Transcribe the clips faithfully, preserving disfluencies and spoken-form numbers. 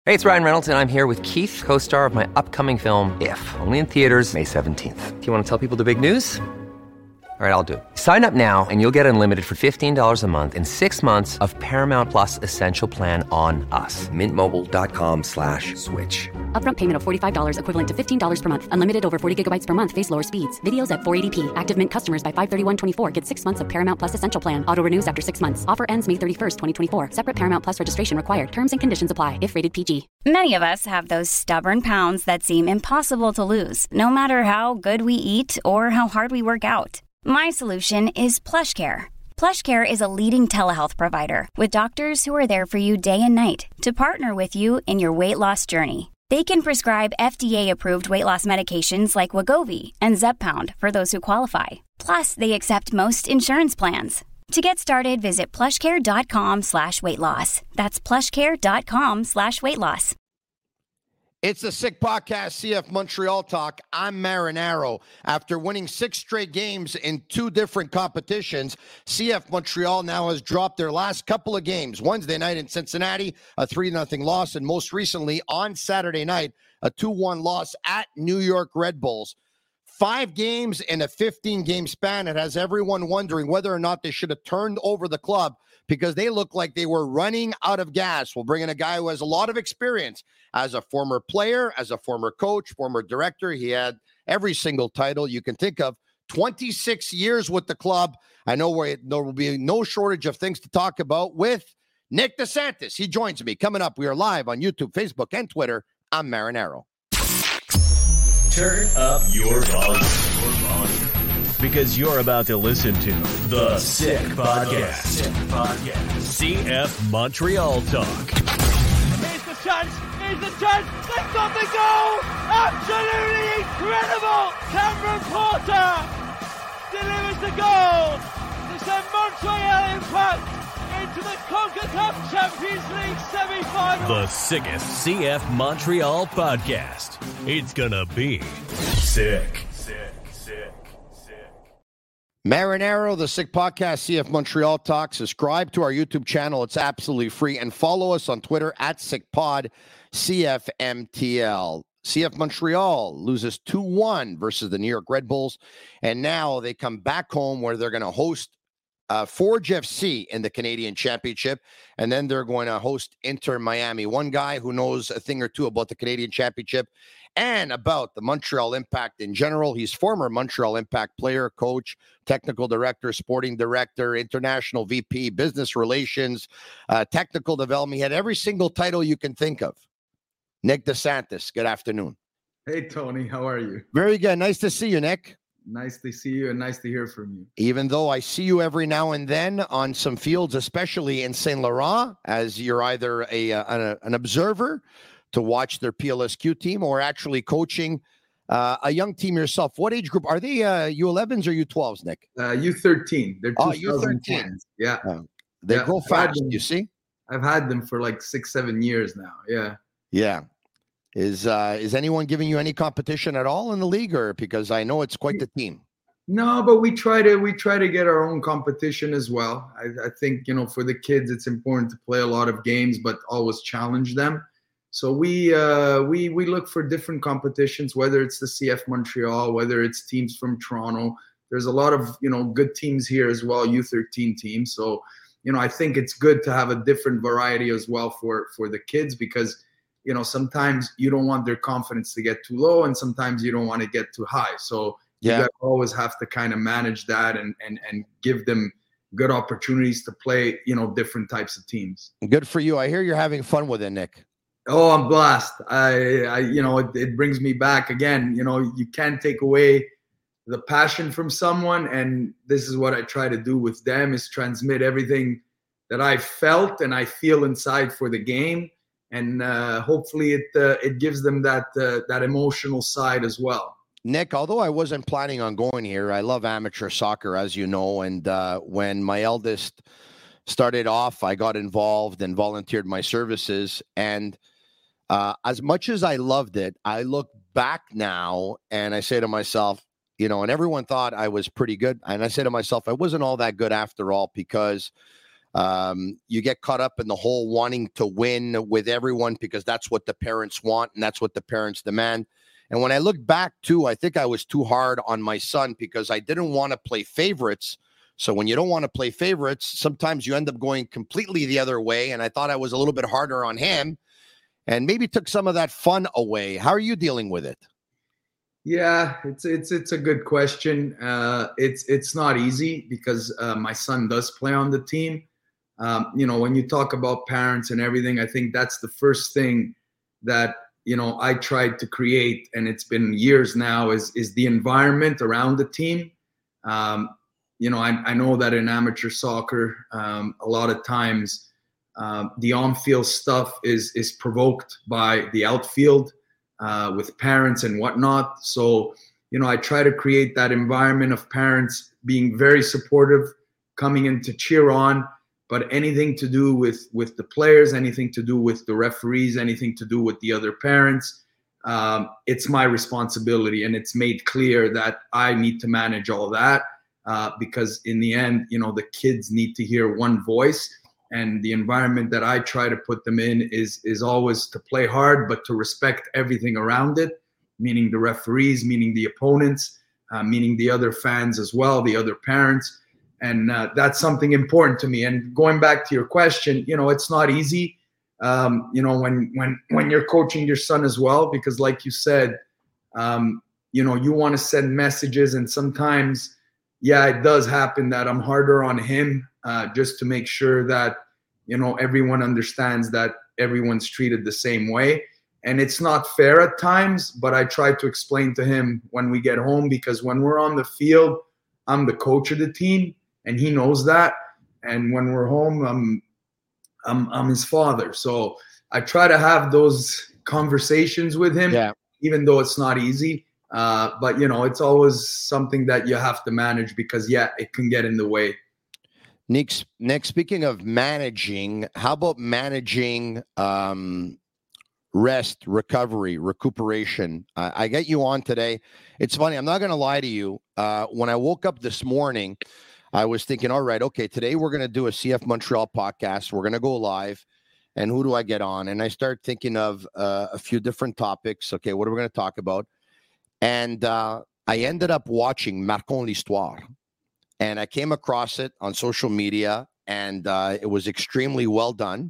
Hey, it's Ryan Reynolds, and I'm here with Keith, co-star of my upcoming film, If, only in theaters May seventeenth. Do you want to tell people the big news? All right, I'll do it. Sign up now and you'll get unlimited for fifteen dollars a month and six months of Paramount Plus Essential Plan on us. Mint Mobile dot com slash switch. Upfront payment of forty-five dollars equivalent to fifteen dollars per month. Unlimited over forty gigabytes per month. Face lower speeds. Videos at four eighty p. Active Mint customers by five thirty-one twenty-four get six months of Paramount Plus Essential Plan. Auto renews after six months. Offer ends May thirty-first, twenty twenty-four. Separate Paramount Plus registration required. Terms and conditions apply if rated P G. Many of us have those stubborn pounds that seem impossible to lose, no matter how good we eat or how hard we work out. My solution is PlushCare. PlushCare is a leading telehealth provider with doctors who are there for you day and night to partner with you in your weight loss journey. They can prescribe F D A-approved weight loss medications like Wegovy and Zepbound for those who qualify. Plus, they accept most insurance plans. To get started, visit plushcare.com slash weight loss. That's plushcare.com slash weight loss. It's the Sick Podcast, C F Montreal Talk. I'm Marinaro. After winning six straight games in two different competitions, C F Montreal now has dropped their last couple of games. Wednesday night in Cincinnati, a three nothing loss, and most recently on Saturday night, a two one loss at New York Red Bulls. Five games in a fifteen-game span. It has everyone wondering whether or not they should have turned over the club because they look like they were running out of gas. We'll bring in a guy who has a lot of experience as a former player, as a former coach, former director. He had every single title you can think of. twenty-six years with the club. I know where there will be no shortage of things to talk about with Nick DeSantis. He joins me. Coming up, we are live on YouTube, Facebook, and Twitter. I'm Marinaro. Turn up your volume, your volume, because you're about to listen to The Sick Podcast. Sick Podcast. C F Montreal Talk. Here's the chance. Here's the chance. They've got the goal. Absolutely incredible. Cameron Porter delivers the goal to send Montreal Impact into the CONCACAF Champions League semi-final. The sickest C F Montreal podcast. It's gonna be sick. Sick, sick, sick. Marinaro, the Sick Podcast, C F Montreal Talk. Subscribe to our YouTube channel. It's absolutely free. And follow us on Twitter at SickPod, C F M T L. C F Montreal loses two one versus the New York Red Bulls. And now they come back home where they're going to host Uh, Forge F C in the Canadian Championship, and then they're going to host Inter Miami. One guy who knows a thing or two about the Canadian Championship and about the Montreal Impact in general. He's former Montreal Impact player, coach, technical director, sporting director, international V P, business relations, uh, technical development. He had every single title you can think of. Nick DeSantis, good afternoon. Hey, Tony, how are you? Very good. Nice to see you, Nick. Nice to see you and nice to hear from you. Even though I see you every now and then on some fields, especially in Saint Laurent, as you're either a, a an observer to watch their P L S Q team or actually coaching uh, a young team yourself. What age group? Are they uh, U elevens or U twelves, Nick? Uh, U thirteen. They're oh, U thirteen. Yeah. Uh, they yeah. grow fast, you see? I've had them for like six, seven years now. Yeah. Yeah. Is uh, is anyone giving you any competition at all in the league, or because I know it's quite the team? No, but we try to we try to get our own competition as well. I, I think you know for the kids it's important to play a lot of games, but always challenge them. So we uh, we we look for different competitions, whether it's the C F Montreal, whether it's teams from Toronto. There's a lot of you know good teams here as well, U thirteen teams. So you know I think it's good to have a different variety as well for for the kids because. You know, sometimes you don't want their confidence to get too low and sometimes you don't want to get too high. So yeah. You always have to kind of manage that and, and, and give them good opportunities to play, you know, different types of teams. Good for you. I hear you're having fun with it, Nick. Oh, I'm blessed. I, I you know, it, it brings me back again. You know, you can't take away the passion from someone. And this is what I try to do with them is transmit everything that I felt and I feel inside for the game. And uh, hopefully it uh, it gives them that uh, that emotional side as well. Nick, although I wasn't planning on going here, I love amateur soccer, as you know. And uh, when my eldest started off, I got involved and volunteered my services. And uh, as much as I loved it, I look back now and I say to myself, you know, and everyone thought I was pretty good. And I say to myself, I wasn't all that good after all because Um, you get caught up in the whole wanting to win with everyone because that's what the parents want and that's what the parents demand. And when I look back too, I think I was too hard on my son because I didn't want to play favorites. So when you don't want to play favorites, sometimes you end up going completely the other way. And I thought I was a little bit harder on him and maybe took some of that fun away. How are you dealing with it? Yeah, it's it's it's a good question. Uh, it's it's not easy because uh, my son does play on the team. Um, you know, when you talk about parents and everything, I think that's the first thing that, you know, I tried to create, and it's been years now, is is the environment around the team. Um, you know, I, I know that in amateur soccer, um, a lot of times uh, the on-field stuff is is provoked by the outfield. Uh, with parents and whatnot. So, you know, I try to create that environment of parents being very supportive, coming in to cheer on, but anything to do with, with the players, anything to do with the referees, anything to do with the other parents, um, it's my responsibility. And it's made clear that I need to manage all that uh, because in the end, you know, the kids need to hear one voice. And the environment that I try to put them in is is always to play hard, but to respect everything around it, meaning the referees, meaning the opponents, uh, meaning the other fans as well, the other parents. And uh, that's something important to me. And going back to your question, you know, it's not easy, um, you know, when when when you're coaching your son as well, because like you said, um, you know, you want to send messages. And sometimes, yeah, it does happen that I'm harder on him. Uh, just to make sure that, you know, everyone understands that everyone's treated the same way. And it's not fair at times, but I try to explain to him when we get home, because when we're on the field, I'm the coach of the team and he knows that. And when we're home, I'm, I'm, I'm his father. So I try to have those conversations with him, yeah. Even though it's not easy. Uh, but, you know, it's always something that you have to manage because, yeah, it can get in the way. Nick, Nick, speaking of managing, how about managing um, rest, recovery, recuperation? Uh, I get you on today. It's funny. I'm not going to lie to you. Uh, when I woke up this morning, I was thinking, all right, okay, today we're going to do a C F Montreal podcast. We're going to go live. And who do I get on? And I start thinking of uh, a few different topics. Okay, what are we going to talk about? And uh, I ended up watching Marquons l'Histoire. And I came across it on social media, and uh, it was extremely well done.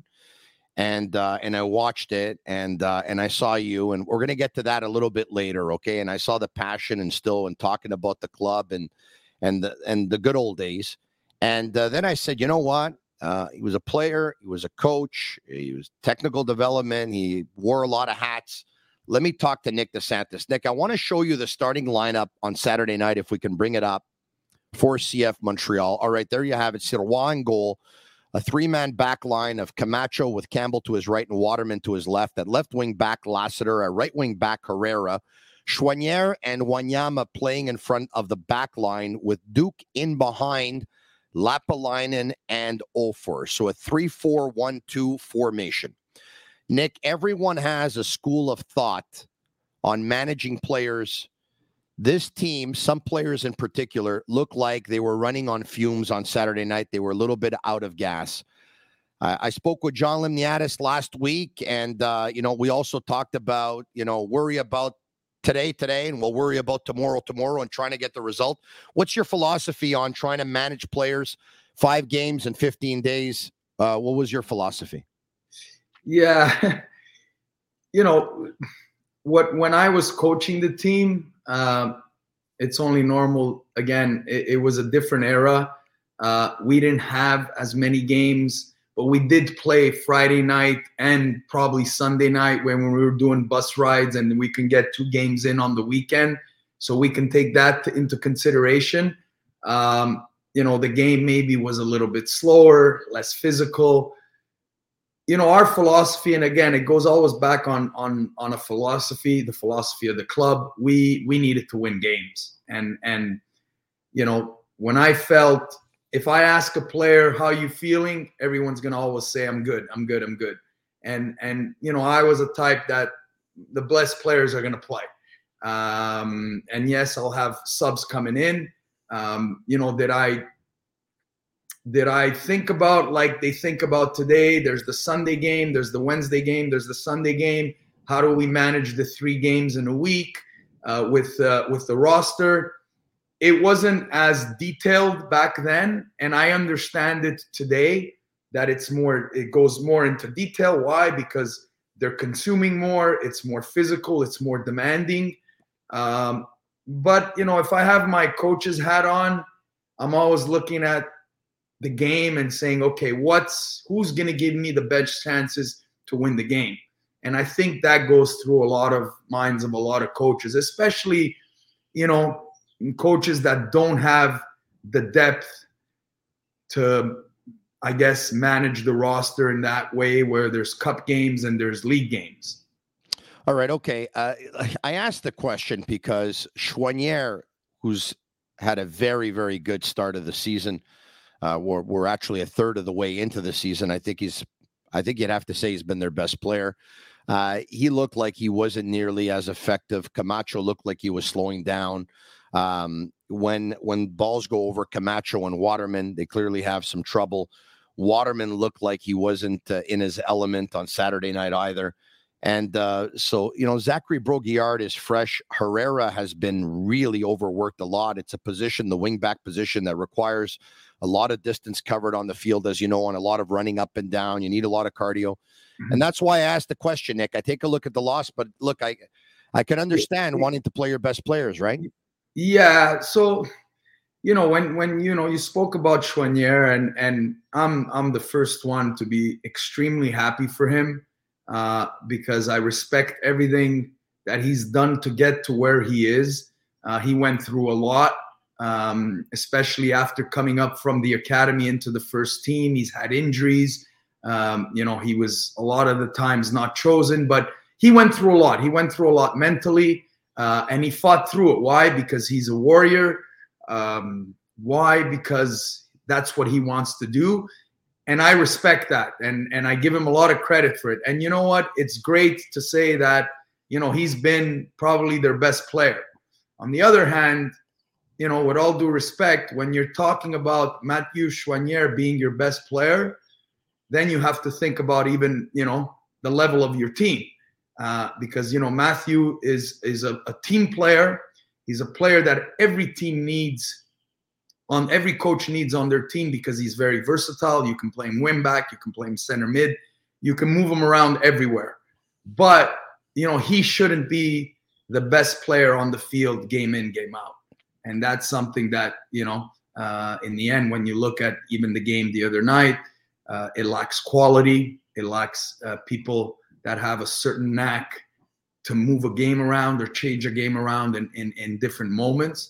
And uh, and I watched it, and uh, and I saw you, and we're going to get to that a little bit later, okay? And I saw the passion and still and talking about the club and and the, and the good old days. And uh, then I said, you know what? Uh, he was a player, he was a coach, he was technical development, he wore a lot of hats. Let me talk to Nick DeSantis. Nick, I want to show you the starting lineup on Saturday night if we can bring it up. For C F Montreal. All right, there you have it. Sirois in goal. A three-man back line of Camacho with Campbell to his right and Waterman to his left. At left wing back, Lassiter. At right wing back, Herrera. Choinière and Wanyama playing in front of the back line with Duke in behind Lapalainen and Ofer. So a three four one two formation. Nick, everyone has a school of thought on managing players. This team, some players in particular, look like they were running on fumes on Saturday night. They were a little bit out of gas. Uh, I spoke with John Limniadis last week, and, uh, you know, we also talked about, you know, worry about today, today, and we'll worry about tomorrow, tomorrow, and trying to get the result. What's your philosophy on trying to manage players five games in fifteen days? Uh, what was your philosophy? Yeah. You know, what when I was coaching the team, Uh, it's only normal. Again, it, it was a different era. Uh, we didn't have as many games, but we did play Friday night and probably Sunday night when we were doing bus rides, and we can get two games in on the weekend. So we can take that into consideration. Um, you know, the game maybe was a little bit slower, less physical. You know, our philosophy, and again, it goes always back on on on a philosophy, the philosophy of the club. We we needed to win games, and and you know, when I felt, if I ask a player how you feeling, everyone's gonna always say I'm good, I'm good, I'm good. And and you know, I was a type that the best players are gonna play. Um, and yes, I'll have subs coming in. Um, you know, did I did I think about like they think about today? There's the Sunday game, there's the Wednesday game, there's the Sunday game. How do we manage the three games in a week uh, with uh, with the roster? It wasn't as detailed back then, and I understand it today that it's more. It goes more into detail. Why? Because they're consuming more. It's more physical. It's more demanding. Um, but you know, if I have my coach's hat on, I'm always looking at the game and saying, okay, what's who's going to give me the best chances to win the game? And I think that goes through a lot of minds of a lot of coaches, especially, you know, coaches that don't have the depth to, I guess, manage the roster in that way where there's cup games and there's league games. All right. Okay. Uh, I asked the question because Choinière, who's had a very, very good start of the season, uh, we're, we're actually a third of the way into the season. I think he's, I think you'd have to say he's been their best player. Uh, he looked like he wasn't nearly as effective. Camacho looked like he was slowing down. Um, when when balls go over Camacho and Waterman, they clearly have some trouble. Waterman looked like he wasn't uh, in his element on Saturday night either. And uh, so, you know, Zachary Brault-Guillard is fresh. Herrera has been really overworked a lot. It's a position, the wing-back position, that requires a lot of distance covered on the field, as you know, and a lot of running up and down. You need a lot of cardio. Mm-hmm. And that's why I asked the question, Nick. I take a look at the loss, but look, I I can understand wanting to play your best players, right? Yeah. So, you know, when when you know you spoke about Choinière, and and I'm I'm the first one to be extremely happy for him uh, because I respect everything that he's done to get to where he is. Uh, he went through a lot, um, especially after coming up from the academy into the first team. He's had injuries. Um, you know, he was a lot of the times not chosen, but he went through a lot. He went through a lot mentally, uh, and he fought through it. Why? Because he's a warrior. Um, why? Because that's what he wants to do. And I respect that. And, and I give him a lot of credit for it. And you know what? It's great to say that, you know, he's been probably their best player. On the other hand, you know, with all due respect, when you're talking about Mathieu Choinière being your best player, then you have to think about even, you know, the level of your team. Uh, because, you know, Mathieu is is a, a team player. He's a player that every team needs, on every coach needs on their team, because he's very versatile. You can play him wing back, you can play him center mid, you can move him around everywhere. But, you know, he shouldn't be the best player on the field game in, game out. And that's something that, you know, uh, in the end, when you look at even the game the other night, Uh, it lacks quality. It lacks uh, people that have a certain knack to move a game around or change a game around in, in, in different moments.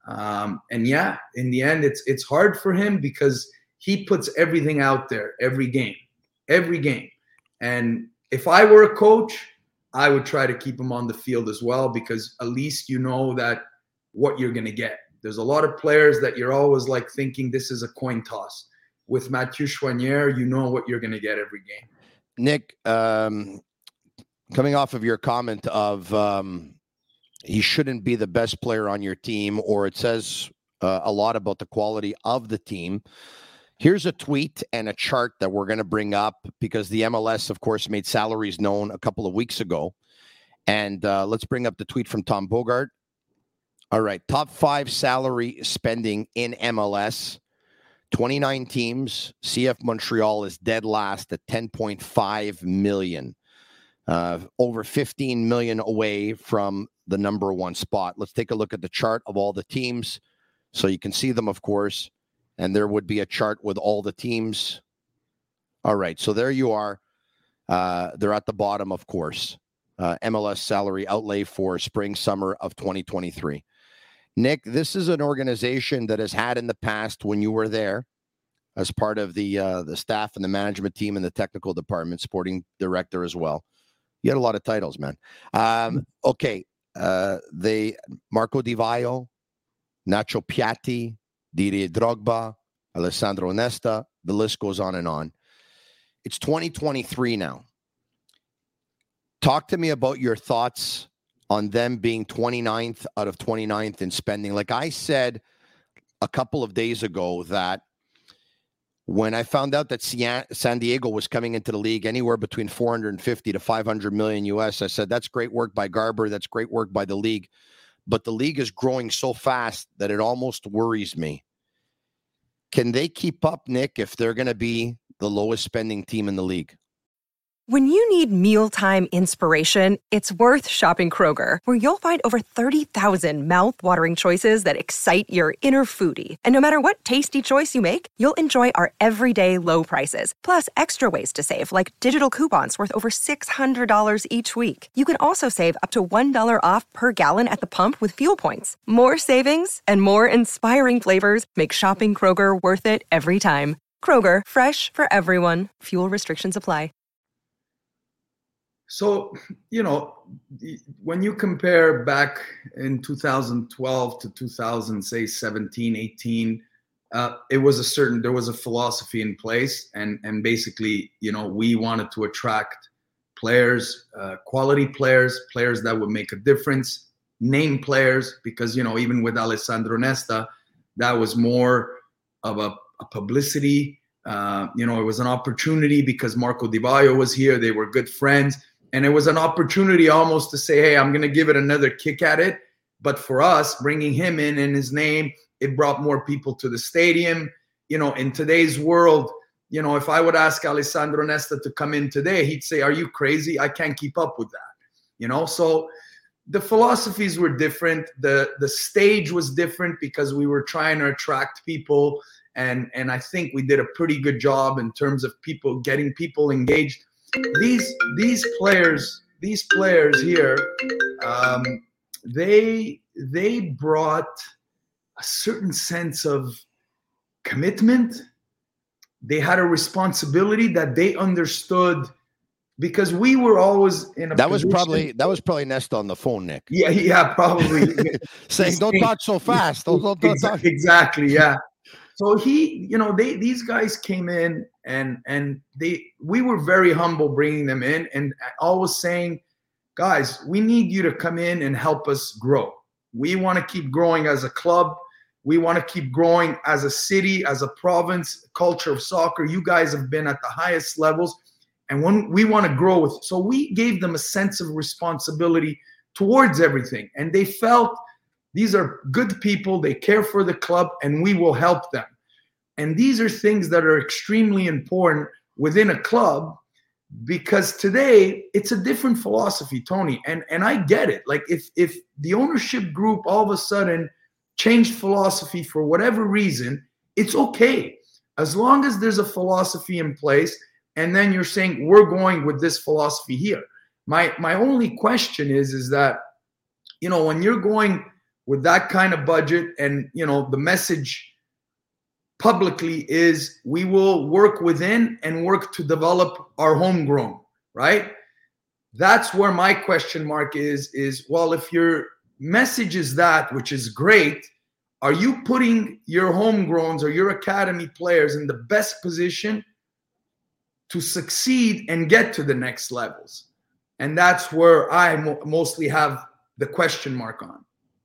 Um, and yeah, in the end, it's it's hard for him because he puts everything out there every game, every game. And if I were a coach, I would try to keep him on the field as well, because at least you know that what you're going to get. There's a lot of players that you're always like thinking this is a coin toss. With Mathieu Choinière, you know what you're going to get every game. Nick, um, coming off of your comment of um, he shouldn't be the best player on your team, or it says uh, a lot about the quality of the team. Here's a tweet and a chart that we're going to bring up because the M L S, of course, made salaries known a couple of weeks ago. And uh, let's bring up the tweet from Tom Bogart. All right, top five salary spending in M L S. twenty-nine teams. C F Montreal is dead last at ten point five million. Uh, over fifteen million away from the number one spot. Let's take a look at the chart of all the teams so you can see them, of course. And there would be a chart with all the teams. All right, so there you are. Uh, they're at the bottom, of course. Uh, M L S salary outlay for spring, summer of twenty twenty-three. Nick, this is an organization that has had in the past, when you were there as part of the uh, the staff and the management team and the technical department, sporting director as well. You had a lot of titles, man. Um, okay, uh, they Marco Di Vaio, Nacho Piatti, Didier Drogba, Alessandro Nesta. The list goes on and on. It's twenty twenty-three now. Talk to me about your thoughts on them being twenty-ninth out of twenty-ninth in spending. Like I said a couple of days ago, that when I found out that San Diego was coming into the league anywhere between four hundred fifty to five hundred million U S, I said, that's great work by Garber. That's great work by the league. But the league is growing so fast that it almost worries me. Can they keep up, Nick, if they're going to be the lowest spending team in the league? When you need mealtime inspiration, it's worth shopping Kroger, where you'll find over thirty thousand mouth-watering choices that excite your inner foodie. And no matter what tasty choice you make, you'll enjoy our everyday low prices, plus extra ways to save, like digital coupons worth over six hundred dollars each week. You can also save up to one dollar off per gallon at the pump with fuel points. More savings and more inspiring flavors make shopping Kroger worth it every time. Kroger, fresh for everyone. Fuel restrictions apply. So, you know, when you compare back in two thousand twelve to two thousand, say, seventeen, eighteen, uh, it was a certain, there was a philosophy in place. And, and basically, you know, we wanted to attract players, uh, quality players, players that would make a difference, name players, because, you know, even with Alessandro Nesta, that was more of a, a publicity. Uh, you know, it was an opportunity because Marco Di Vaio was here. They were good friends. And it was an opportunity almost to say, hey, I'm going to give it another kick at it. But for us, bringing him in and his name, it brought more people to the stadium. You know, in today's world, you know, if I would ask Alessandro Nesta to come in today, he'd say, are you crazy? I can't keep up with that. You know, so the philosophies were different. The the stage was different because we were trying to attract people. And, and I think we did a pretty good job in terms of people getting people engaged. These these players these players here, um, they they brought a certain sense of commitment. They had a responsibility that they understood, because we were always in a that was position, probably that was probably Nesta on the phone, Nick. Yeah, yeah, probably saying, "Don't talk so fast." Don't, don't, don't talk. Exactly, yeah. So he, you know, they these guys came in and and they we were very humble bringing them in, and always saying, guys, we need you to come in and help us grow. We want to keep growing as a club. We want to keep growing as a city, as a province, culture of soccer. You guys have been at the highest levels, and when we want to grow with. So we gave them a sense of responsibility towards everything, and they felt these are good people. They care for the club, and we will help them. And these are things that are extremely important within a club, because today it's a different philosophy, Tony. And and I get it. Like if if the ownership group all of a sudden changed philosophy for whatever reason, it's okay. As long as there's a philosophy in place, and then you're saying we're going with this philosophy here. My my only question is, is that, you know, when you're going with that kind of budget, and, you know, the message publicly is we will work within and work to develop our homegrown, right? That's where my question mark is, is, well, if your message is that, which is great, are you putting your homegrowns or your academy players in the best position to succeed and get to the next levels? And that's where I mo- mostly have the question mark on.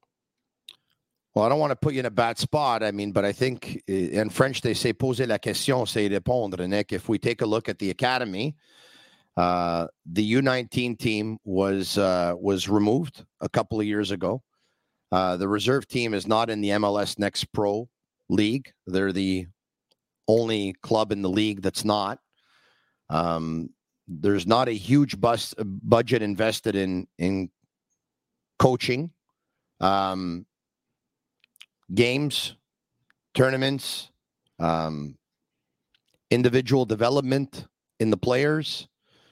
Well, I don't want to put you in a bad spot. I mean, but I think in French, they say poser la question, c'est répondre, Nick. If we take a look at the academy, uh, the U nineteen team was uh, was removed a couple of years ago. Uh, the reserve team is not in the M L S Next Pro League. They're the only club in the league that's not. Um, there's not a huge bus, budget invested in, in coaching. Um, games, tournaments, um, individual development in the players.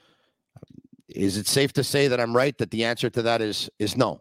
Is it safe to say that I'm right, that the answer to that is is no?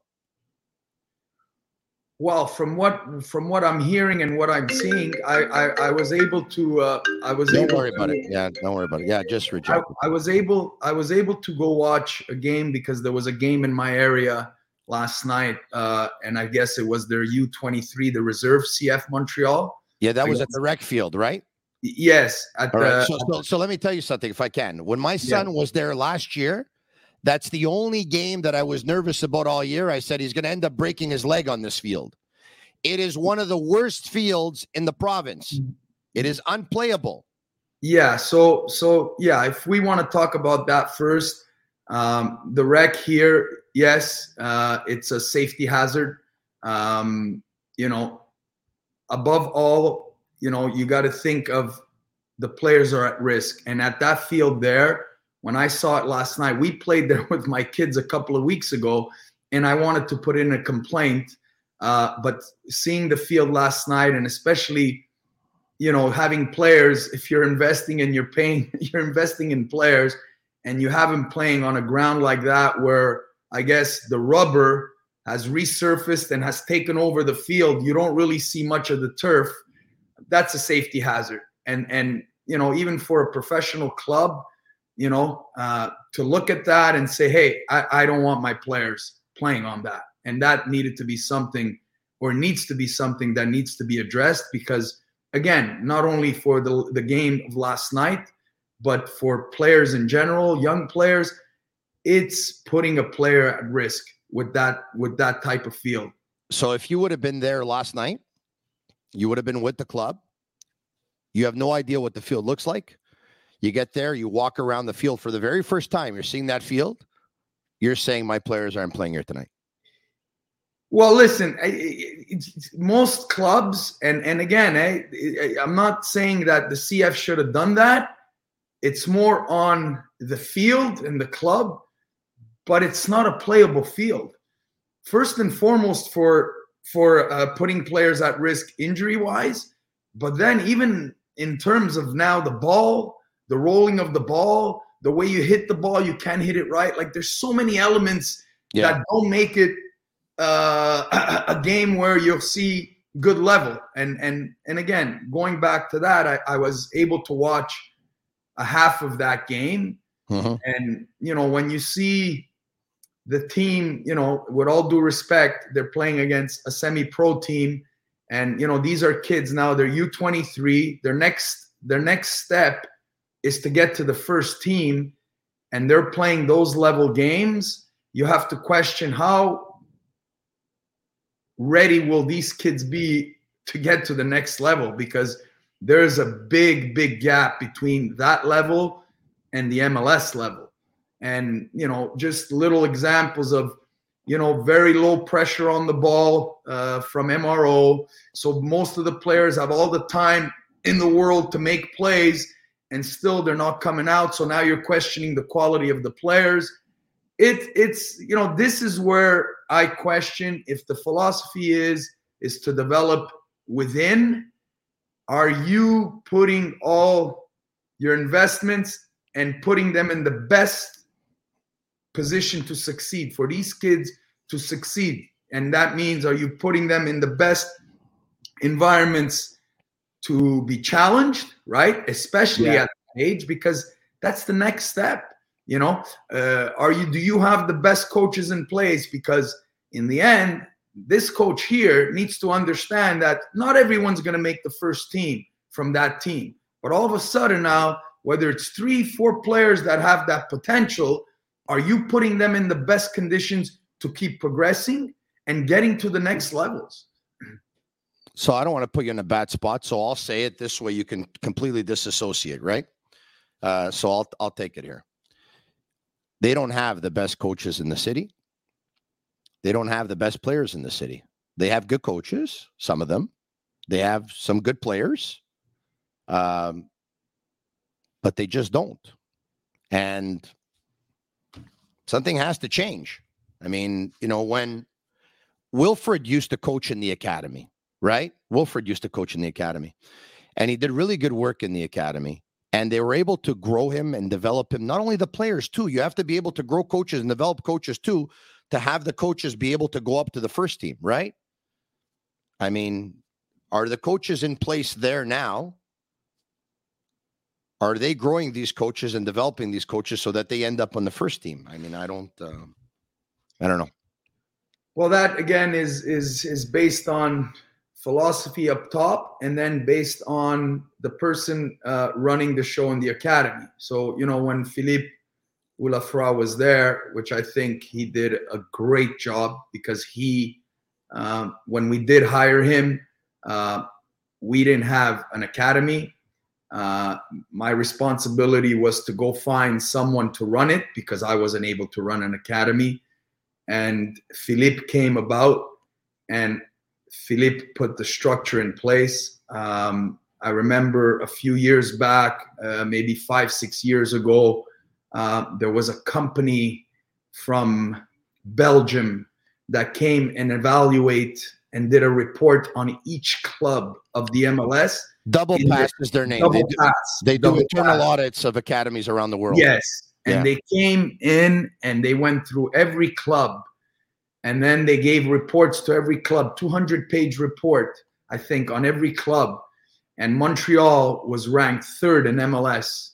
Well, from what from what I'm hearing and what I'm seeing, I I, I was able to uh, I was don't able worry to, about it. Yeah, don't worry about it. Yeah, just reject I, I was able I was able to go watch a game because there was a game in my area last night, uh, and I guess it was their U twenty-three, the reserve C F Montreal. Yeah, that was at the rec field, right? Yes. At All the, right. So, so, so let me tell you something, if I can. When my son yeah. was there last year, that's the only game that I was nervous about all year. I said he's going to end up breaking his leg on this field. It is one of the worst fields in the province. It is unplayable. Yeah. So, so yeah, if we want to talk about that first, um, the wreck here, yes, uh, it's a safety hazard. Um, you know, above all, you know, you got to think of the players are at risk. And at that field there, when I saw it last night, we played there with my kids a couple of weeks ago, and I wanted to put in a complaint. Uh, but seeing the field last night, and especially, you know, having players, if you're investing and you're paying, you're investing in players, and you have them playing on a ground like that, where I guess the rubber has resurfaced and has taken over the field, you don't really see much of the turf. That's a safety hazard. And, and, you know, even for a professional club, you know, uh, to look at that and say, hey, I, I don't want my players playing on that. And that needed to be something, or needs to be something that needs to be addressed, because, again, not only for the, the game of last night, but for players in general, young players, it's putting a player at risk with that, with that type of field. So if you would have been there last night, you would have been with the club. You have no idea what the field looks like. You get there, you walk around the field for the very first time. You're seeing that field. You're saying my players aren't playing here tonight. Well, listen, it's most clubs, and, and again, I, I'm not saying that the C F should have done that. It's more on the field and the club, but it's not a playable field. First and foremost for, for uh, putting players at risk injury-wise, but then even in terms of now the ball, the rolling of the ball, the way you hit the ball, you can't hit it right. Like, there's so many elements yeah. that don't make it uh, a, a game where you'll see good level. And and and again, going back to that, I, I was able to watch a half of that game. Mm-hmm. And, you know, when you see the team, you know, with all due respect, they're playing against a semi-pro team. And, you know, these are kids now, they're U twenty-three. Their next, their next step is to get to the first team, and they're playing those level games. You have to question how ready will these kids be to get to the next level, because there's a big, big gap between that level and the M L S level. And, you know, just little examples of, you know, very low pressure on the ball uh, from M R O. So most of the players have all the time in the world to make plays, and still they're not coming out. So now you're questioning the quality of the players. It, it's, you know, this is where I question if the philosophy is, is to develop within. Are you putting all your investments and putting them in the best position to succeed, for these kids to succeed? And that means, are you putting them in the best environments to be challenged, right? Especially yeah. at that age, because that's the next step. You know, uh, are you, do you have the best coaches in place? Because in the end, this coach here needs to understand that not everyone's going to make the first team from that team. But all of a sudden now, whether it's three, four players that have that potential, are you putting them in the best conditions to keep progressing and getting to the next levels? So I don't want to put you in a bad spot, so I'll say it this way. You can completely disassociate, right? Uh, so I'll I'll take it here. They don't have the best coaches in the city. They don't have the best players in the city. They have good coaches, some of them. They have some good players, um, but they just don't. And something has to change. I mean, you know, when Wilfred used to coach in the academy, right? Wilfred used to coach in the academy, and he did really good work in the academy. And they were able to grow him and develop him. Not only the players, too. You have to be able to grow coaches and develop coaches, too, to have the coaches be able to go up to the first team, right? I mean, are the coaches in place there now? Are they growing these coaches and developing these coaches so that they end up on the first team? I mean, I don't, uh, I don't know. Well, that again is is is based on philosophy up top, and then based on the person uh, running the show in the academy. So, you know, when Philippe Ulafra was there, which I think he did a great job, because he, um, when we did hire him, uh, we didn't have an academy. Uh, my responsibility was to go find someone to run it because I wasn't able to run an academy. And Philippe came about, and Philippe put the structure in place. Um, I remember a few years back, uh, maybe five, six years ago, uh, there was a company from Belgium that came and evaluate and did a report on each club of the M L S. Double Pass is their name. Double they do, Pass. they do Double internal Pass. audits of academies around the world. Yes. And Yeah. they came in and they went through every club. And then they gave reports to every club, two hundred page report, I think, on every club. And Montreal was ranked third in M L S.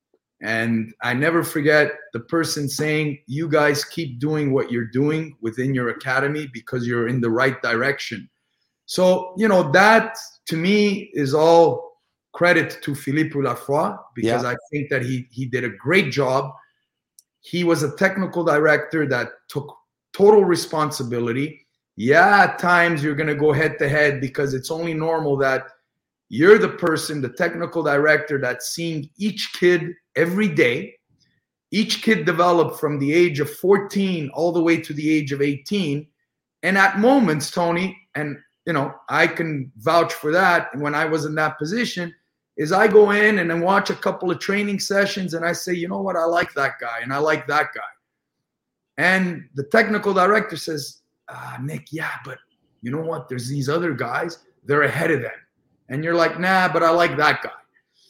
And I never forget the person saying, you guys keep doing what you're doing within your academy because you're in the right direction. So, you know, that to me is all credit to Philippe Lafroy because Yeah. I think that he he did a great job. He was a technical director that took total responsibility. Yeah, at times you're going to go head to head because it's only normal that you're the person, the technical director, that's seeing each kid every day. Each kid developed from the age of fourteen all the way to the age of eighteen. And at moments, Tony, and you know, I can vouch for that. And when I was in that position, is I go in and then watch a couple of training sessions and I say, you know what, I like that guy and I like that guy. And the technical director says, ah, Nick, yeah, but you know what? There's these other guys, they're ahead of them. And you're like, nah, but I like that guy.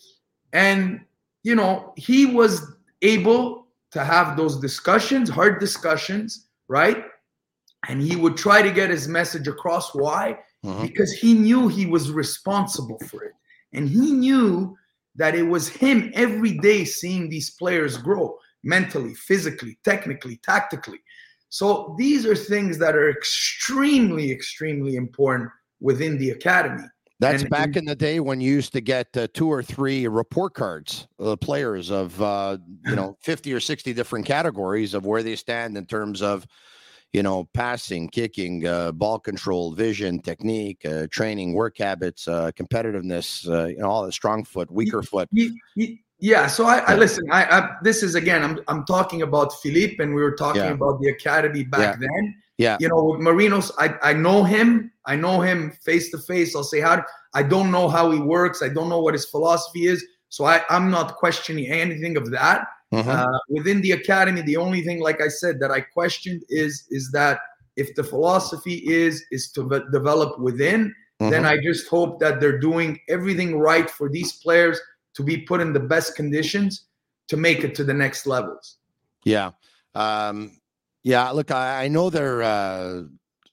And, you know, he was able to have those discussions, hard discussions, right? And he would try to get his message across. Why? Mhm. Because he knew he was responsible for it. And he knew that it was him every day seeing these players grow mentally, physically, technically, tactically. So these are things that are extremely, extremely important within the academy. That's And- back and- in the day when you used to get uh, two or three report cards, uh, players of, uh, you know, fifty or sixty different categories of where they stand in terms of, you know, passing, kicking, uh, ball control, vision, technique, uh, training, work habits, uh, competitiveness, uh, you know, all the strong foot, weaker foot. Ye- ye- Yeah, so I, I Yeah. listen. I, I this is again. I'm I'm talking about Philippe, and we were talking Yeah. about the academy back Yeah. then. Yeah. You know, with Marinos, I I know him. I know him face to face. I'll say how. do- I don't know how he works. I don't know what his philosophy is. So I I'm not questioning anything of that. Mhm. Uh, within the academy, the only thing, like I said, that I questioned is is that if the philosophy is is to ve- develop within, then Mhm. I just hope that they're doing everything right for these players to be put in the best conditions to make it to the next levels. Yeah. Um, yeah. Look, I, I know they're, uh,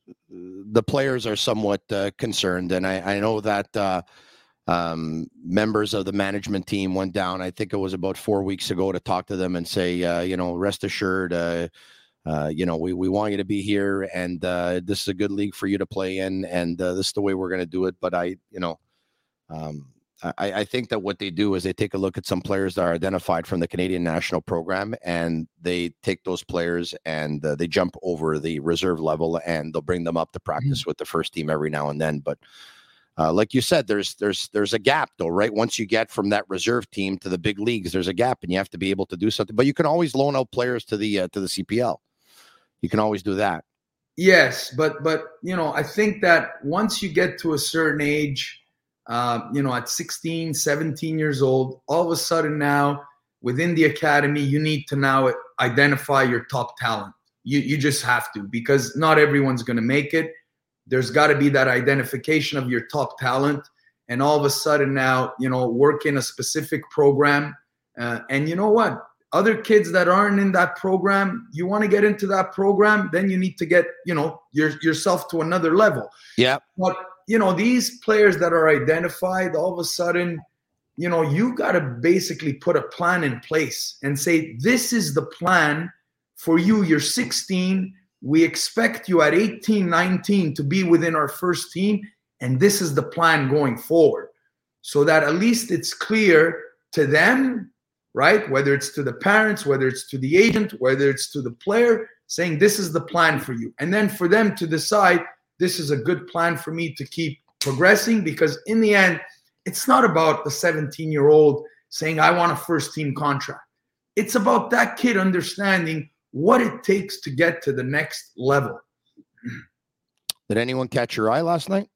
the players are somewhat uh, concerned, and I, I know that uh, um, members of the management team went down, I think it was about four weeks ago, to talk to them and say, uh, you know, rest assured, uh, uh, you know, we, we want you to be here, and uh, this is a good league for you to play in, and uh, this is the way we're going to do it. But I, you know, um, I, I think that what they do is they take a look at some players that are identified from the Canadian national program, and they take those players and uh, they jump over the reserve level, and they'll bring them up to practice mm-hmm. with the first team every now and then. But uh, like you said, there's there's there's a gap though, right? Once you get from that reserve team to the big leagues, there's a gap, and you have to be able to do something. But you can always loan out players to the uh, to the C P L. You can always do that. Yes, but but you know, I think that once you get to a certain age, Uh, you know, at sixteen, seventeen years old, all of a sudden now within the academy, you need to now identify your top talent. You you just have to, because not everyone's going to make it. There's got to be that identification of your top talent. And all of a sudden now, you know, work in a specific program. Uh, and you know what? Other kids that aren't in that program, you want to get into that program, then you need to get, you know, your, yourself to another level. Yeah. But you know, these players that are identified, all of a sudden, you know, you got to basically put a plan in place and say, this is the plan for you. You're sixteen. We expect you at eighteen, nineteen to be within our first team. And this is the plan going forward. So that at least it's clear to them, right? Whether it's to the parents, whether it's to the agent, whether it's to the player, saying this is the plan for you. And then for them to decide, this is a good plan for me to keep progressing, because in the end, it's not about the seventeen-year-old saying, I want a first-team contract. It's about that kid understanding what it takes to get to the next level. Did anyone catch your eye last night?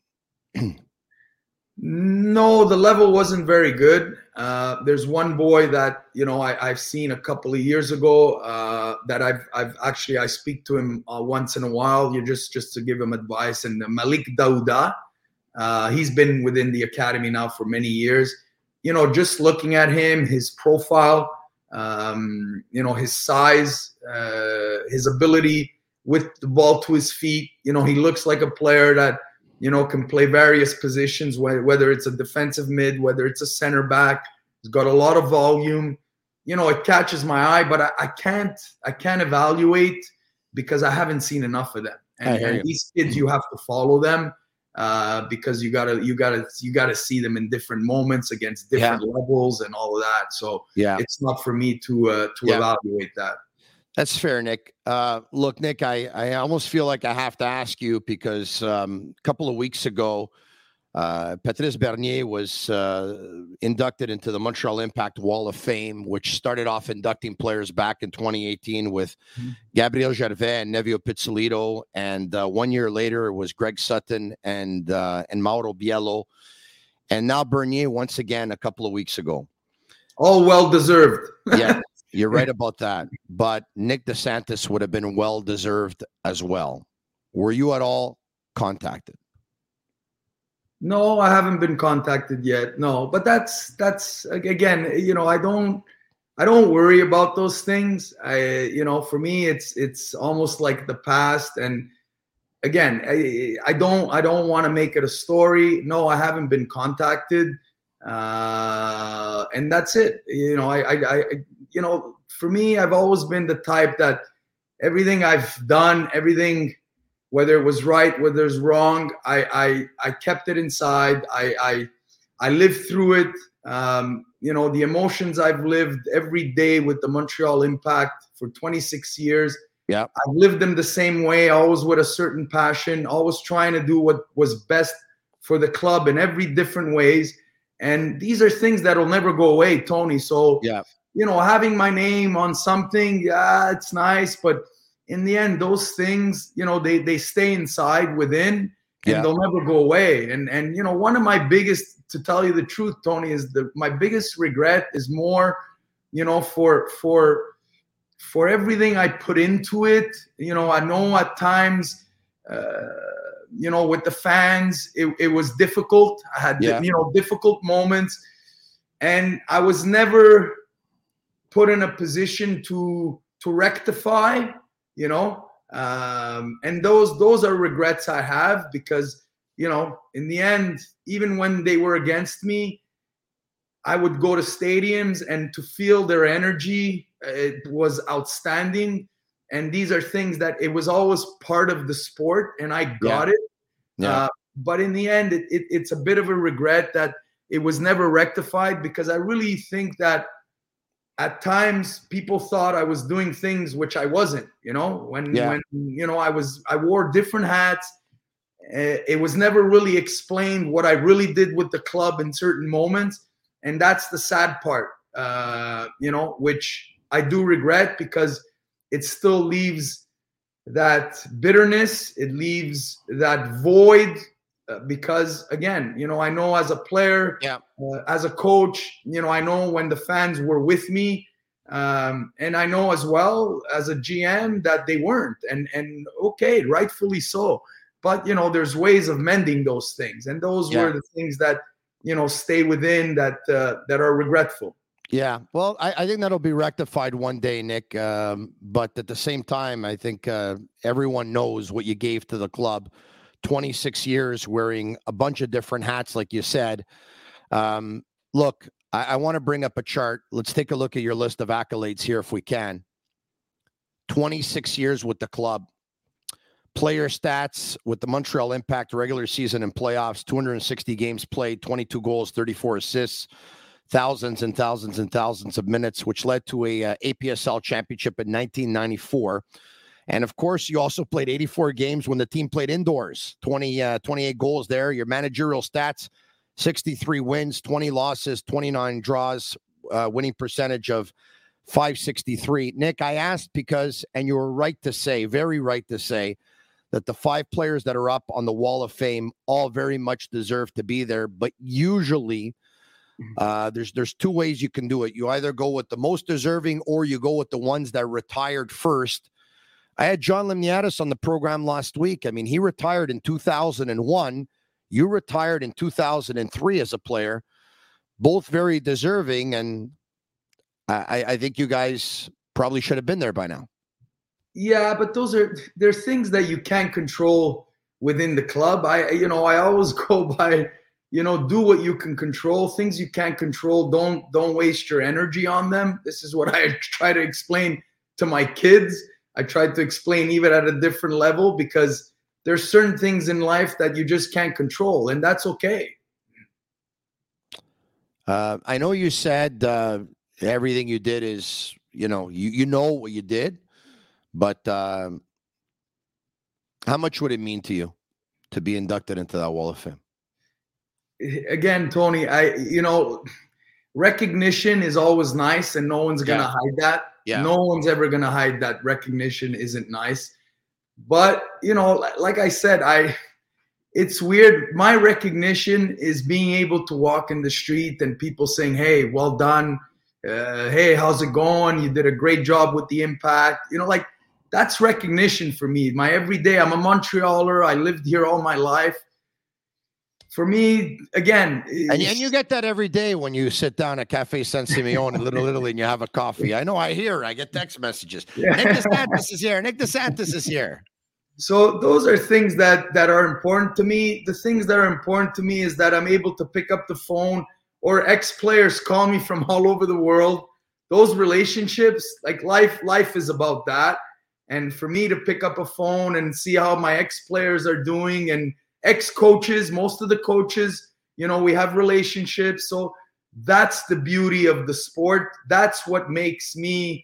No, the level wasn't very good. Uh, there's one boy that, you know, I, I've seen a couple of years ago uh, that I've I've actually, I speak to him uh, once in a while, you just, just to give him advice. And Malik Dauda, uh, he's been within the academy now for many years. You know, just looking at him, his profile, um, you know, his size, uh, his ability with the ball to his feet. You know, he looks like a player that, you know, can play various positions, whether it's a defensive mid, whether it's a center back. He's got a lot of volume. You know, it catches my eye, but I, I can't I can't evaluate because I haven't seen enough of them. And, and these kids, you have to follow them uh, because you gotta you gotta you gotta see them in different moments against different yeah. levels and all of that. So yeah, it's not for me to uh, to yeah. evaluate that. That's fair, Nick. Uh, look, Nick, I, I almost feel like I have to ask you because um, a couple of weeks ago, uh, Patrice Bernier was uh, inducted into the Montreal Impact Wall of Fame, which started off inducting players back in twenty eighteen with mm-hmm. Gabriel Gervais and Nevio Pizzolito. And uh, one year later, it was Greg Sutton and, uh, and Mauro Biello. And now Bernier once again a couple of weeks ago. All well-deserved. Yeah. You're right about that. But Nick DeSantis would have been well-deserved as well. Were you at all contacted? No, I haven't been contacted yet. No, but that's, that's again, you know, I don't, I don't worry about those things. I, you know, for me, it's, it's almost like the past. And again, I, I don't, I don't want to make it a story. No, I haven't been contacted. Uh, and that's it. You know, I, I, I, you know, for me, I've always been the type that everything I've done, everything, whether it was right, whether it's wrong, I, I, I kept it inside. I, I, I lived through it. Um, you know, the emotions I've lived every day with the Montreal Impact for twenty-six years. Yeah, I've lived them the same way, always with a certain passion, always trying to do what was best for the club in every different ways. And these are things that will never go away, Tony. So, yeah. you know, having my name on something, yeah, it's nice. But in the end, those things, you know, they they stay inside within and yeah. they'll never go away. And, and you know, one of my biggest, to tell you the truth, Tony, is the my biggest regret is more, you know, for for for everything I put into it. You know, I know at times, uh, you know, with the fans, it, it was difficult. I had, yeah. you know, difficult moments. And I was never put in a position to to rectify, you know. Um, and those those are regrets I have because, you know, in the end, even when they were against me, I would go to stadiums and to feel their energy, it was outstanding. And these are things that it was always part of the sport, and I got yeah. it. Yeah. Uh, but in the end, it, it, it's a bit of a regret that it was never rectified because I really think that at times people thought I was doing things which I wasn't. You know, when yeah. when you know I was I wore different hats. Uh, it was never really explained what I really did with the club in certain moments, and that's the sad part. Uh, you know, which I do regret because it still leaves that bitterness. It leaves that void uh, because, again, you know, I know as a player, yeah. uh, as a coach, you know, I know when the fans were with me. Um, and I know as well as a G M that they weren't. And, and okay, rightfully so. But, you know, there's ways of mending those things. And those yeah. were the things that, you know, stay within that uh, that are regretful. Yeah, well, I, I think that'll be rectified one day, Nick. Um, but at the same time, I think uh, everyone knows what you gave to the club. twenty-six years wearing a bunch of different hats, like you said. Um, look, I, I want to bring up a chart. Let's take a look at your list of accolades here if we can. twenty-six years with the club. Player stats with the Montreal Impact, regular season and playoffs, two hundred sixty games played, twenty-two goals, thirty-four assists. Thousands and thousands and thousands of minutes, which led to a uh, A P S L championship in nineteen ninety-four. And of course, you also played eighty-four games when the team played indoors, twenty, uh, twenty-eight goals there. Your managerial stats, sixty-three wins, twenty losses, twenty-nine draws, uh, winning percentage of five sixty-three. Nick, I asked because, and you were right to say, very right to say, that the five players that are up on the Wall of Fame all very much deserve to be there. But usually uh, there's there's two ways you can do it. You either go with the most deserving or you go with the ones that retired first. I had John Limniadis on the program last week. I mean, he retired in two thousand one. You retired in two thousand three as a player. Both very deserving, and I, I think you guys probably should have been there by now. Yeah, but those are there's things that you can't control within the club. I you know I always go by, you know, do what you can control. Things you can't control, don't don't waste your energy on them. This is what I try to explain to my kids. I try to explain even at a different level, because there's certain things in life that you just can't control, and that's okay. Uh, I know you said uh, everything you did is, you know, you you know what you did. But um, how much would it mean to you to be inducted into that Wall of Fame? Again, Tony, I you know, recognition is always nice, and no one's gonna yeah. hide that. Yeah. No one's ever gonna hide that recognition isn't nice. But you know, like I said, I it's weird. My recognition is being able to walk in the street and people saying, "Hey, well done. Uh, hey, how's it going? You did a great job with the Impact." You know, like. That's recognition for me. My everyday, I'm a Montrealer. I lived here all my life. For me, again. And, and you get that every day when you sit down at Cafe San Simeone in Little Italy and you have a coffee. I know, I hear, I get text messages. Yeah. Nick DeSantis is here. Nick DeSantis is here. So those are things that, that are important to me. The things that are important to me is that I'm able to pick up the phone, or ex-players call me from all over the world. Those relationships, like life, life is about that. And for me to pick up a phone and see how my ex-players are doing, and ex-coaches, most of the coaches, you know, we have relationships. So that's the beauty of the sport. That's what makes me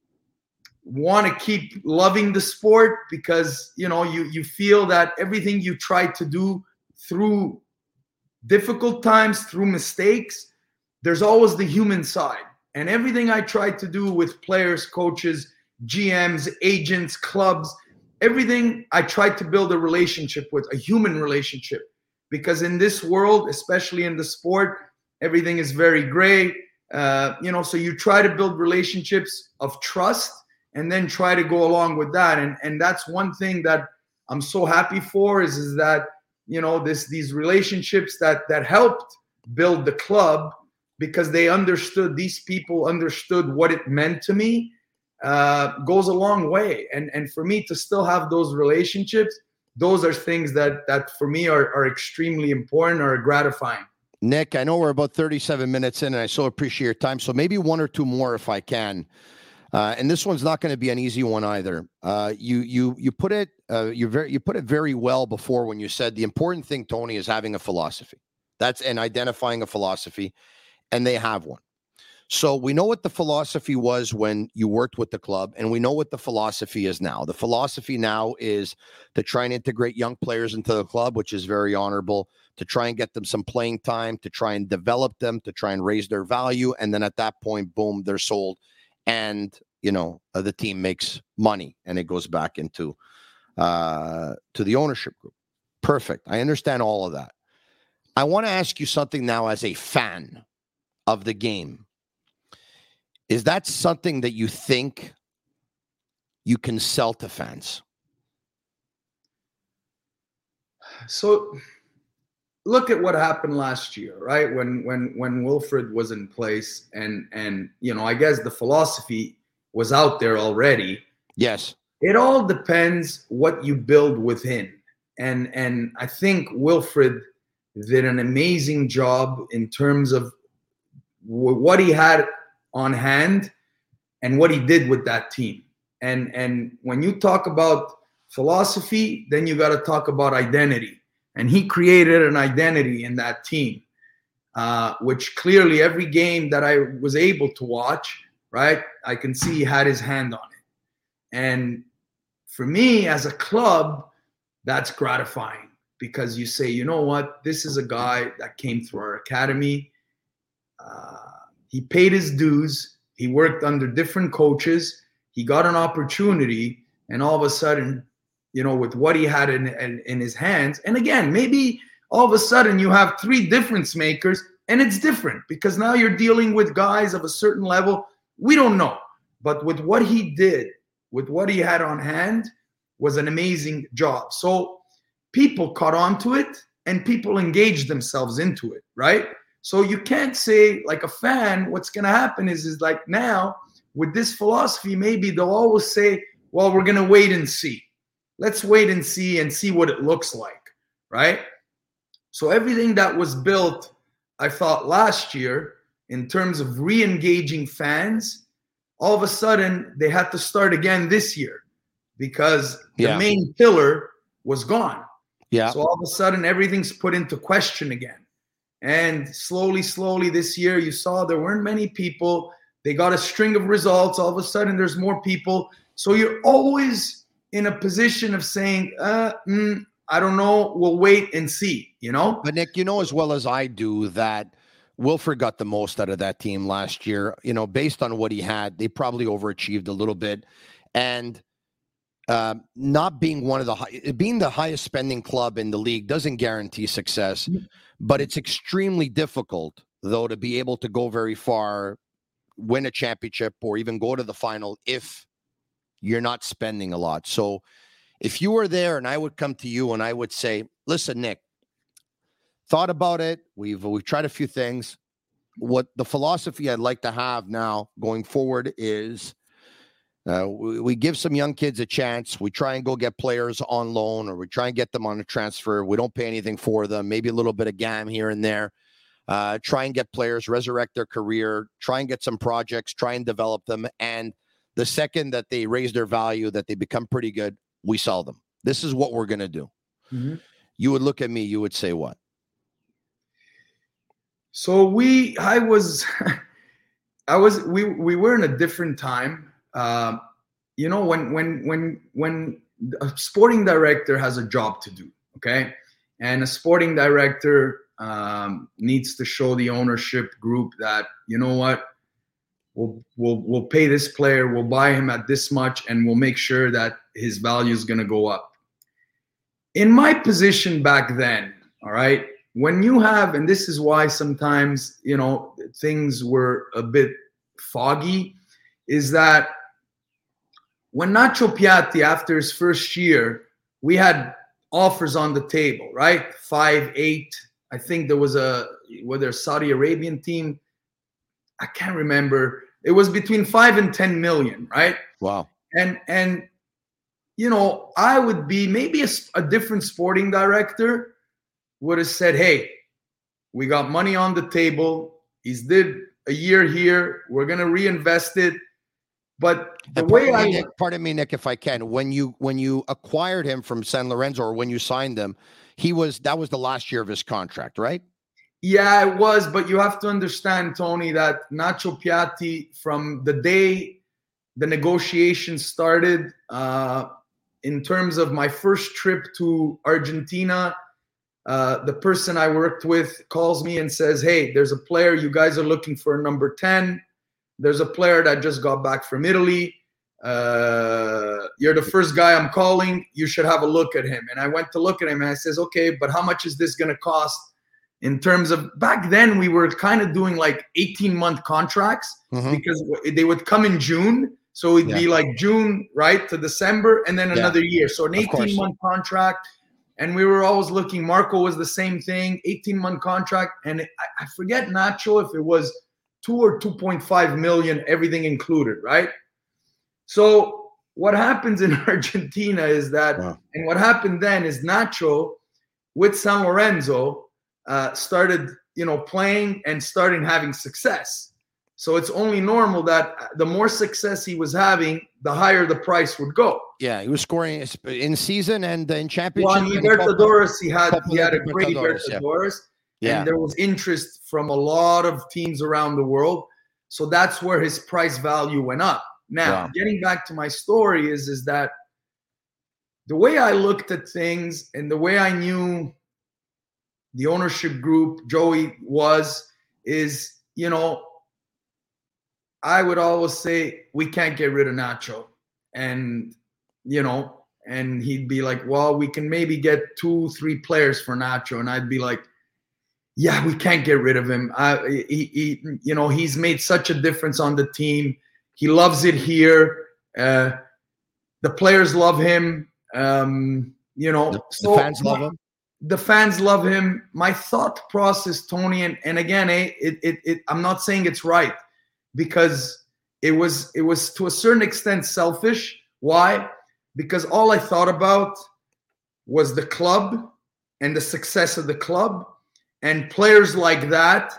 want to keep loving the sport, because, you know, you, you feel that everything you try to do through difficult times, through mistakes, there's always the human side. And everything I try to do with players, coaches, G Ms, agents, clubs, everything I try to build a relationship with, a human relationship. Because in this world, especially in the sport, everything is very gray. Uh, you know, so you try to build relationships of trust and then try to go along with that. And and that's one thing that I'm so happy for is, is that, you know, this these relationships that that helped build the club, because they understood, these people understood what it meant to me. Uh, goes a long way. And and for me to still have those relationships, those are things that that for me are, are extremely important, or gratifying. Nick, I know we're about thirty-seven minutes in, and I so appreciate your time. So maybe one or two more if I can. Uh, and this one's not going to be an easy one either. Uh, you you you put it uh, you very you put it very well before when you said the important thing, Tony, is having a philosophy. That's and identifying a philosophy, and they have one. So we know what the philosophy was when you worked with the club, and we know what the philosophy is now. The philosophy now is to try and integrate young players into the club, which is very honorable, to try and get them some playing time, to try and develop them, to try and raise their value. And then at that point, boom, they're sold. And, you know, uh, the team makes money and it goes back into uh, to the ownership group. Perfect. I understand all of that. I want to ask you something now as a fan of the game. Is that something that you think you can sell to fans? So look at what happened last year, right? When when when Wilfred was in place, and and you know, I guess the philosophy was out there already. Yes. It all depends what you build within. And and I think Wilfred did an amazing job in terms of w- what he had on hand and what he did with that team. And and when you talk about philosophy, then you got to talk about identity. And he created an identity in that team, uh, which clearly every game that I was able to watch, right, I can see he had his hand on it. And for me as a club, that's gratifying, because you say, you know what, this is a guy that came through our academy. Uh, he paid his dues. He worked under different coaches. He got an opportunity, and all of a sudden, you know, with what he had in, in, in his hands, and again, maybe all of a sudden you have three difference makers, and it's different because now you're dealing with guys of a certain level. We don't know. But with what he did, with what he had on hand, was an amazing job. So people caught on to it, and people engaged themselves into it, right? So you can't say, like a fan, what's going to happen is, is like now, with this philosophy, maybe they'll always say, well, we're going to wait and see. Let's wait and see and see what it looks like, right? So everything that was built, I thought, last year in terms of re-engaging fans, all of a sudden they had to start again this year because yeah. the main pillar was gone. Yeah. So all of a sudden everything's put into question again. And slowly, slowly this year, you saw there weren't many people. They got a string of results. All of a sudden there's more people. So you're always in a position of saying, uh, mm, I don't know, we'll wait and see, you know? But Nick, you know as well as I do that Wilfred got the most out of that team last year. You know, based on what he had, they probably overachieved a little bit. And uh, not being one of the high, being the highest spending club in the league doesn't guarantee success, but it's extremely difficult, though, to be able to go very far, win a championship, or even go to the final if you're not spending a lot. So if you were there and I would come to you and I would say, listen, Nick, thought about it. We've we've tried a few things. What the philosophy I'd like to have now going forward is uh, we, we give some young kids a chance. We try and go get players on loan, or we try and get them on a transfer. We don't pay anything for them, maybe a little bit of G A M here and there. Uh, try and get players, resurrect their career, try and get some projects, try and develop them. And the second that they raise their value, that they become pretty good, we sell them. This is what we're going to do. Mm-hmm. You would look at me, you would say what? So we, I was, I was, we, we were in a different time. Uh, you know, when, when, when, when a sporting director has a job to do, okay. And a sporting director um, needs to show the ownership group that, you know what, we'll, we'll, we'll pay this player, we'll buy him at this much, and we'll make sure that his value is going to go up. In my position back then, all right, when you have, and this is why sometimes, you know, things were a bit foggy, is that when Nacho Piatti, after his first year, we had offers on the table, right? Five, eight. I think there was a, whether a Saudi Arabian team, I can't remember. It was between five and ten million, right? Wow. And, and, you know, I would be maybe a, a different sporting director would have said, hey, we got money on the table. He's did a year here. We're going to reinvest it. But the way I... Me, Nick, pardon me, Nick, if I can. When you when you acquired him from San Lorenzo, or when you signed him, he was that was the last year of his contract, right? Yeah, it was. But you have to understand, Tony, that Nacho Piatti, from the day the negotiations started, uh, in terms of my first trip to Argentina, Uh, the person I worked with calls me and says, hey, there's a player. You guys are looking for a number ten. There's a player that just got back from Italy. Uh, you're the first guy I'm calling. You should have a look at him. And I went to look at him and I says, okay, but how much is this going to cost in terms of, back then we were kind of doing like eighteen month contracts mm-hmm. because they would come in June. So it'd yeah. be like June, right, to December, and then yeah. another year. So an eighteen month contract. And we were always looking. Marco was the same thing, eighteen month contract. And I, I forget, Nacho, if it was two or two point five million, everything included, right? So what happens in Argentina is that, wow. and what happened then is Nacho with San Lorenzo uh, started, you know, playing and starting having success. So it's only normal that the more success he was having, the higher the price would go. Yeah, he was scoring in season and in championship. Well, in Libertadores, he had he had a great Libertadores, yeah. and there was interest from a lot of teams around the world. So that's where his price value went up. Now, wow. getting back to my story is is that the way I looked at things and the way I knew the ownership group, Joey, was, is, you know, I would always say, we can't get rid of Nacho. And, you know, and he'd be like, well, we can maybe get two, three players for Nacho. And I'd be like, yeah, we can't get rid of him. I, he, he, you know, he's made such a difference on the team. He loves it here. Uh, the players love him. Um, you know, the, so the fans love him. The fans love him. My thought process, Tony, and, and again, eh, it, it, it, I'm not saying it's right, because it was it was to a certain extent selfish. Why? Because all I thought about was the club and the success of the club, and players like that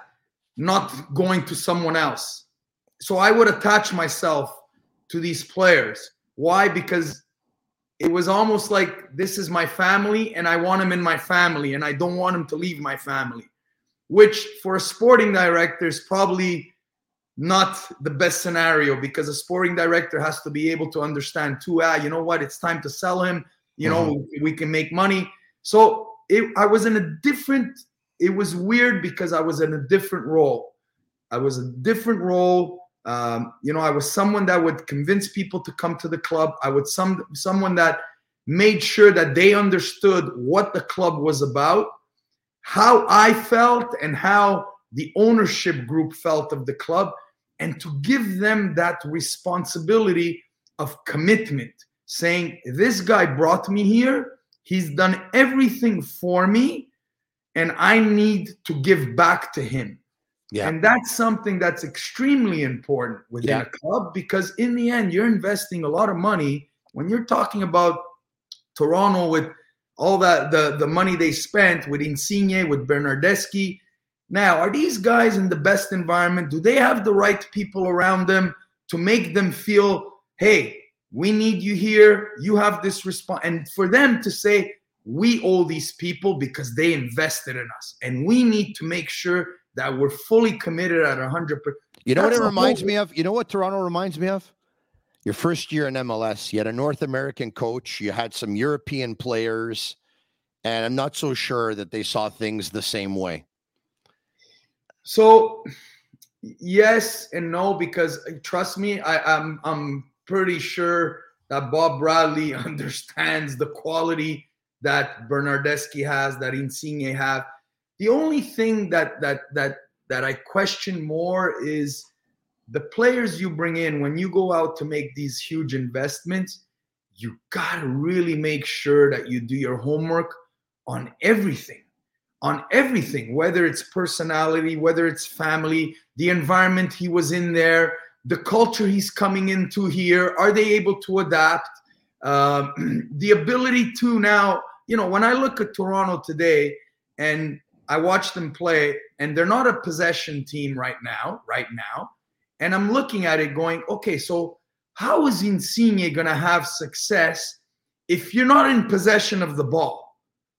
not going to someone else. So I would attach myself to these players. Why? Because it was almost like, this is my family and I want him in my family and I don't want him to leave my family, which for a sporting director is probably not the best scenario, because a sporting director has to be able to understand too, ah, you know what, it's time to sell him, you know, mm-hmm. we, we can make money. So it, I was in a different, it was weird because I was in a different role. I was a different role. Um, you know, I was someone that would convince people to come to the club. I would some someone that made sure that they understood what the club was about, how I felt and how the ownership group felt of the club, and to give them that responsibility of commitment, saying, this guy brought me here, he's done everything for me, and I need to give back to him. Yeah. And that's something that's extremely important within yeah. a club, because in the end, you're investing a lot of money. When you're talking about Toronto with all that, the, the money they spent with Insigne, with Bernardeschi. Now, are these guys in the best environment? Do they have the right people around them to make them feel, hey, we need you here. You have this response. And for them to say, we owe these people because they invested in us, and we need to make sure that we're fully committed at one hundred percent. You know That's what it reminds whole- me of? You know what Toronto reminds me of? Your first year in M L S, you had a North American coach, you had some European players, and I'm not so sure that they saw things the same way. So, yes and no, because trust me, I, I'm I'm pretty sure that Bob Bradley understands the quality that Bernardeschi has, that Insigne have. The only thing that that that that I question more is the players you bring in. When you go out to make these huge investments, you gotta really make sure that you do your homework on everything, on everything, whether it's personality, whether it's family, the environment he was in there, the culture he's coming into here. Are they able to adapt? Um, the ability to now, you know, when I look at Toronto today and I watch them play, and they're not a possession team right now, right now. And I'm looking at it going, okay, so how is Insigne going to have success if you're not in possession of the ball?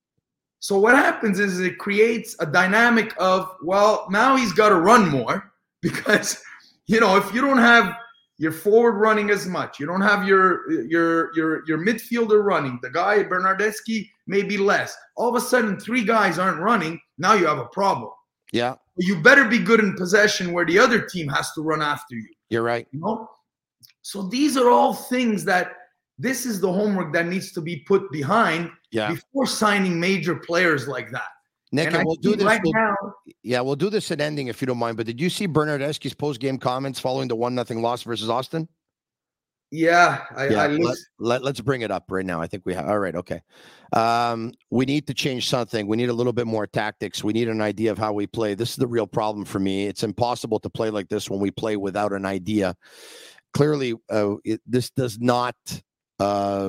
So what happens is it creates a dynamic of, well, now he's got to run more, because, you know, if you don't have your forward running as much, you don't have your your your your midfielder running, the guy Bernardeschi maybe less. All of a sudden, three guys aren't running. Now you have a problem. Yeah. You better be good in possession where the other team has to run after you. You're right. You know? So these are all things that this is the homework that needs to be put behind yeah. before signing major players like that. Nick, and, and we'll do this. Right we'll, now, yeah, we'll do this at ending if you don't mind. But did you see Bernardeschi's post-game comments following the one nothing loss versus Austin? Yeah, I, yeah I let, let, let's bring it up right now. I think we have. All right, okay. Um, we need to change something. We need a little bit more tactics. We need an idea of how we play. This is the real problem for me. It's impossible to play like this when we play without an idea. Clearly, uh, it, this does not uh,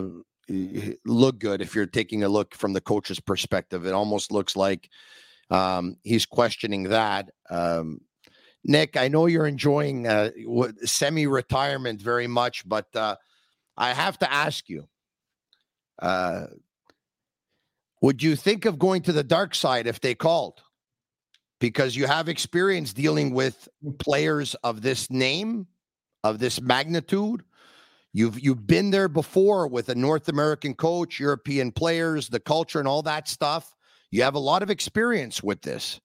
look good if you're taking a look from the coach's perspective. It almost looks like um, he's questioning that. Um, Nick, I know you're enjoying uh, semi-retirement very much, but uh, I have to ask you, uh, would you think of going to the dark side if they called? Because you have experience dealing with players of this name, of this magnitude. You've you've been there before with a North American coach, European players, the culture and all that stuff. You have a lot of experience with this.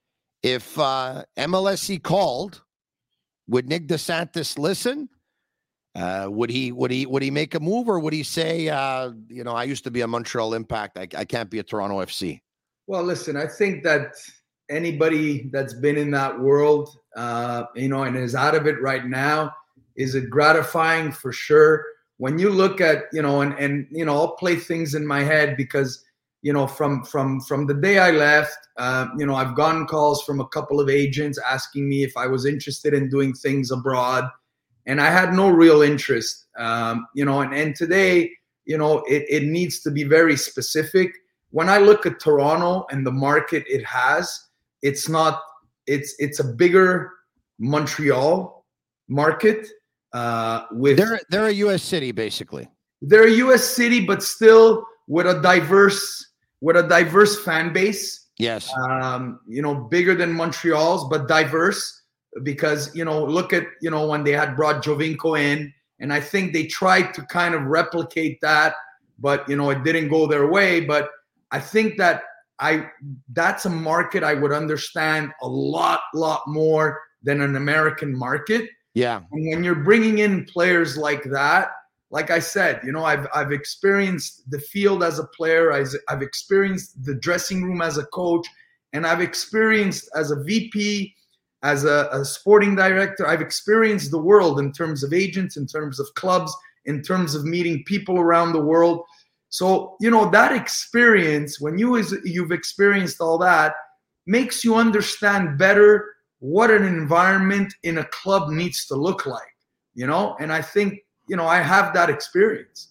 If uh, M L S C called, would Nick DeSantis listen? Uh, would he would he would he make a move, or would he say, uh, you know, I used to be a Montreal Impact, I, I can't be a Toronto F C? Well, listen, I think that anybody that's been in that world, uh, you know, and is out of it right now, is it gratifying for sure. When you look at, you know, and and you know, I'll play things in my head because, you know, from from from the day I left, uh, you know, I've gotten calls from a couple of agents asking me if I was interested in doing things abroad. And I had no real interest, um, you know, and, and today, you know, it, it needs to be very specific. When I look at Toronto and the market it has, it's not, it's it's a bigger Montreal market. Uh, with They're, they're a U S city, basically. They're a U S city, but still with a diverse, with a diverse fan base. Yes. Um, you know, bigger than Montreal's, but diverse. Because, you know, look at, you know, when they had brought Jovinko in, and I think they tried to kind of replicate that, but, you know, it didn't go their way. But I think that I that's a market I would understand a lot, lot more than an American market. Yeah. And when you're bringing in players like that, like I said, you know, I've I've experienced the field as a player, I've, I've experienced the dressing room as a coach, and I've experienced as a V P, as a, a sporting director, I've experienced the world in terms of agents, in terms of clubs, in terms of meeting people around the world. So, you know, that experience, when you is, you've experienced all that, makes you understand better what an environment in a club needs to look like, you know? And I think, you know, I have that experience.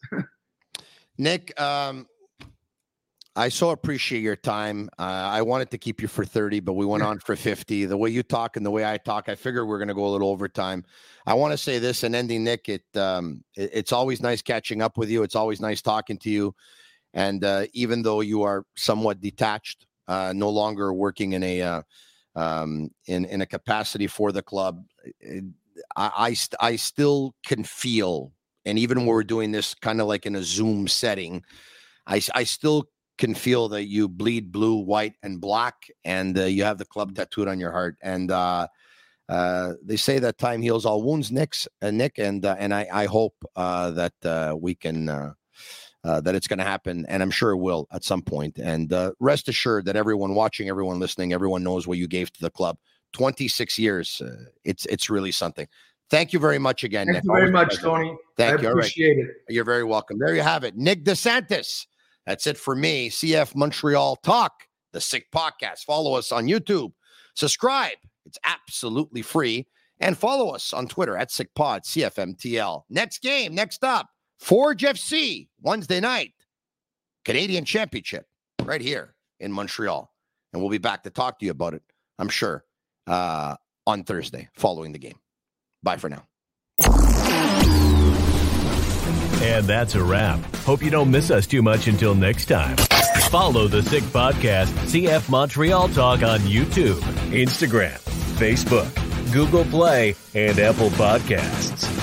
Nick, um, I so appreciate your time. Uh, I wanted to keep you for thirty, but we went on for fifty. The way you talk and the way I talk, I figured we're going to go a little overtime. I want to say this, and ending, Nick, it, um, it it's always nice catching up with you. It's always nice talking to you. And uh, even though you are somewhat detached, uh, no longer working in a uh, um, in in a capacity for the club, it, I I, st- I still can feel, and even when we're doing this kind of like in a Zoom setting, I I still can feel that you bleed blue, white, and black, and uh, you have the club tattooed on your heart. And uh, uh, they say that time heals all wounds, Nick's, uh, Nick, and uh, and I, I hope uh, that uh, we can uh, uh, that it's going to happen, and I'm sure it will at some point. And uh, rest assured that everyone watching, everyone listening, everyone knows what you gave to the club. twenty-six years, uh, it's it's really something. Thank you very much again, Thank Nick. you very Always much, pleasure. Tony. Thank I you. appreciate right. it. You're very welcome. There you have it, Nick DeSantis. That's it for me. C F Montreal Talk, the Sick Podcast. Follow us on YouTube. Subscribe. It's absolutely free. And follow us on Twitter at SickPod, C F M T L. Next game, next up, Forge F C, Wednesday night, Canadian Championship, right here in Montreal. And we'll be back to talk to you about it, I'm sure, uh, on Thursday following the game. Bye for now. And that's a wrap. Hope you don't miss us too much until next time. Follow the Sick Podcast, C F Montreal Talk on YouTube, Instagram, Facebook, Google Play, and Apple Podcasts.